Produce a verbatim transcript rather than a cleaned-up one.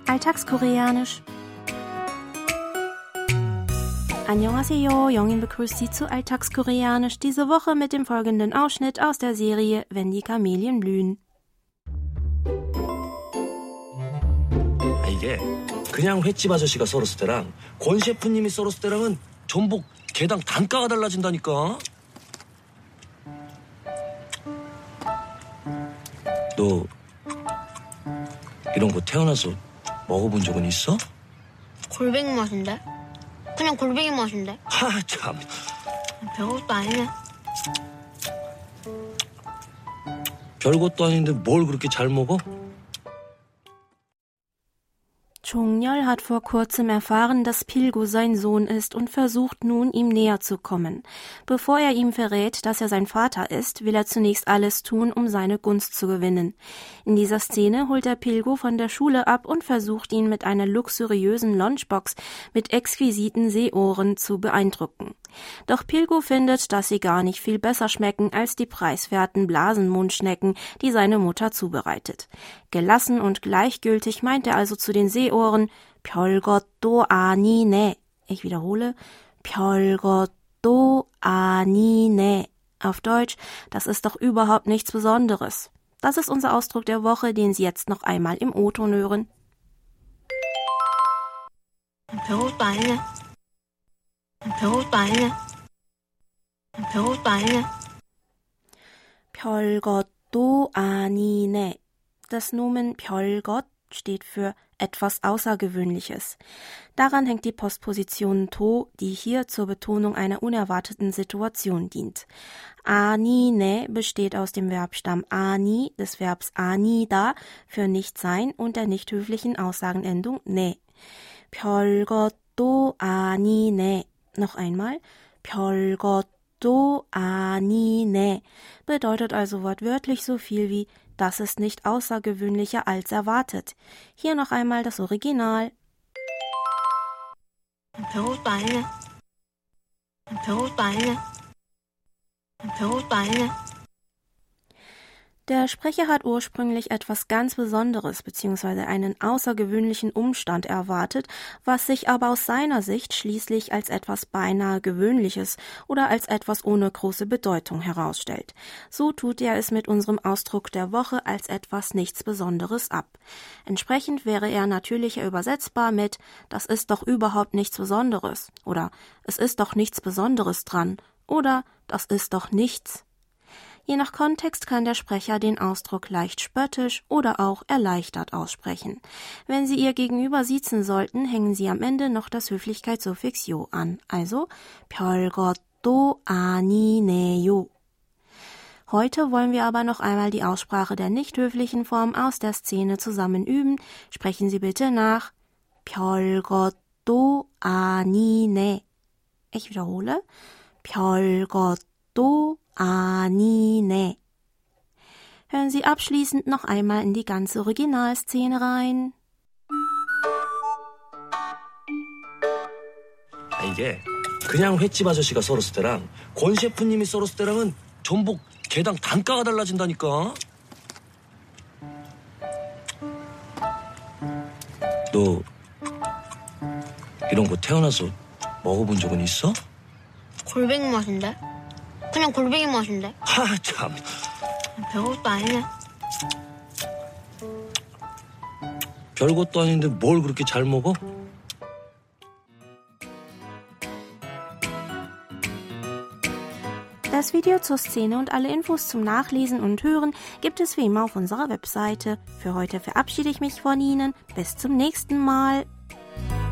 Alltagskoreanisch. Annyeonghaseyo, Jongin begrüßt Sie zu Alltagskoreanisch, diese Woche mit dem folgenden Ausschnitt aus der Serie Wenn die Kamelien blühen. 아, 이게 그냥 횟집 아저씨가 썰었을 때랑 권 셰프님이 썰었을 때랑은 전복 개당 단가가 달라진다니까. 너 이런 거 태어나서 먹어본 적은 있어? 골뱅이 맛인데? 그냥 골뱅이 맛인데? 하, 참. 별것도 아니네. 별것도 아닌데 뭘 그렇게 잘 먹어? Chongyol hat vor kurzem erfahren, dass Pilgu sein Sohn ist und versucht nun, ihm näher zu kommen. Bevor er ihm verrät, dass er sein Vater ist, will er zunächst alles tun, um seine Gunst zu gewinnen. In dieser Szene holt er Pilgu von der Schule ab und versucht ihn mit einer luxuriösen Lunchbox mit exquisiten Seeohren zu beeindrucken. Doch Pilgu findet, dass sie gar nicht viel besser schmecken als die preiswerten Blasenmundschnecken, die seine Mutter zubereitet. Gelassen und gleichgültig meint er also zu den Seeohren, 별것도 아니네. Ich wiederhole, 별것도 아니네. Auf Deutsch, das ist doch überhaupt nichts Besonderes. Das ist unser Ausdruck der Woche, den Sie jetzt noch einmal im O-Ton hören. 별것도 아니네. 별것도 아니네. 별것도 아니네. 별것도 아니네. Das Nomen 별것 steht für etwas Außergewöhnliches. Daran hängt die Postposition to, die hier zur Betonung einer unerwarteten Situation dient. 아니네 besteht aus dem Verbstamm 아니, des Verbs 아니다 für nicht sein und der nicht höflichen Aussagenendung ne. 별것도 아니네. Noch einmal, 별것도 아니네 bedeutet also wortwörtlich so viel wie das ist nicht außergewöhnlicher als erwartet. Hier noch einmal das Original. 별것도 아니네. 별것도 아니네. 별것도 아니네. Der Sprecher hat ursprünglich etwas ganz Besonderes bzw. einen außergewöhnlichen Umstand erwartet, was sich aber aus seiner Sicht schließlich als etwas beinahe Gewöhnliches oder als etwas ohne große Bedeutung herausstellt. So tut er es mit unserem Ausdruck der Woche als etwas nichts Besonderes ab. Entsprechend wäre er natürlicher übersetzbar mit »Das ist doch überhaupt nichts Besonderes« oder »Es ist doch nichts Besonderes dran« oder »Das ist doch nichts«. Je nach Kontext kann der Sprecher den Ausdruck leicht spöttisch oder auch erleichtert aussprechen. Wenn Sie Ihr Gegenüber siezen sollten, hängen Sie am Ende noch das Höflichkeitssuffix 요 an, also 별것도 아니네요. Heute wollen wir aber noch einmal die Aussprache der nicht höflichen Form aus der Szene zusammen üben. Sprechen Sie bitte nach 별것도 아니네. Ich wiederhole, 별것도 아니네. Hören Sie abschließend noch einmal in die ganze Originalszene rein. 아, 이게 그냥 횟집 아저씨가 썰었을 때랑 권 셰프님이 썰었을 때랑은 전복 개당 단가가 달라진다니까. 너 이런 거 태어나서 먹어본 적은 있어? 골뱅이 맛인데? 그냥 골뱅이 맛인데? 하, 참. 별것도 아니네. 별것도 아닌데 뭘 그렇게 잘 먹어? Das Video zur Szene und alle Infos zum Nachlesen und Hören gibt es wie immer auf unserer Webseite. Für heute verabschiede ich mich von Ihnen. Bis zum nächsten Mal.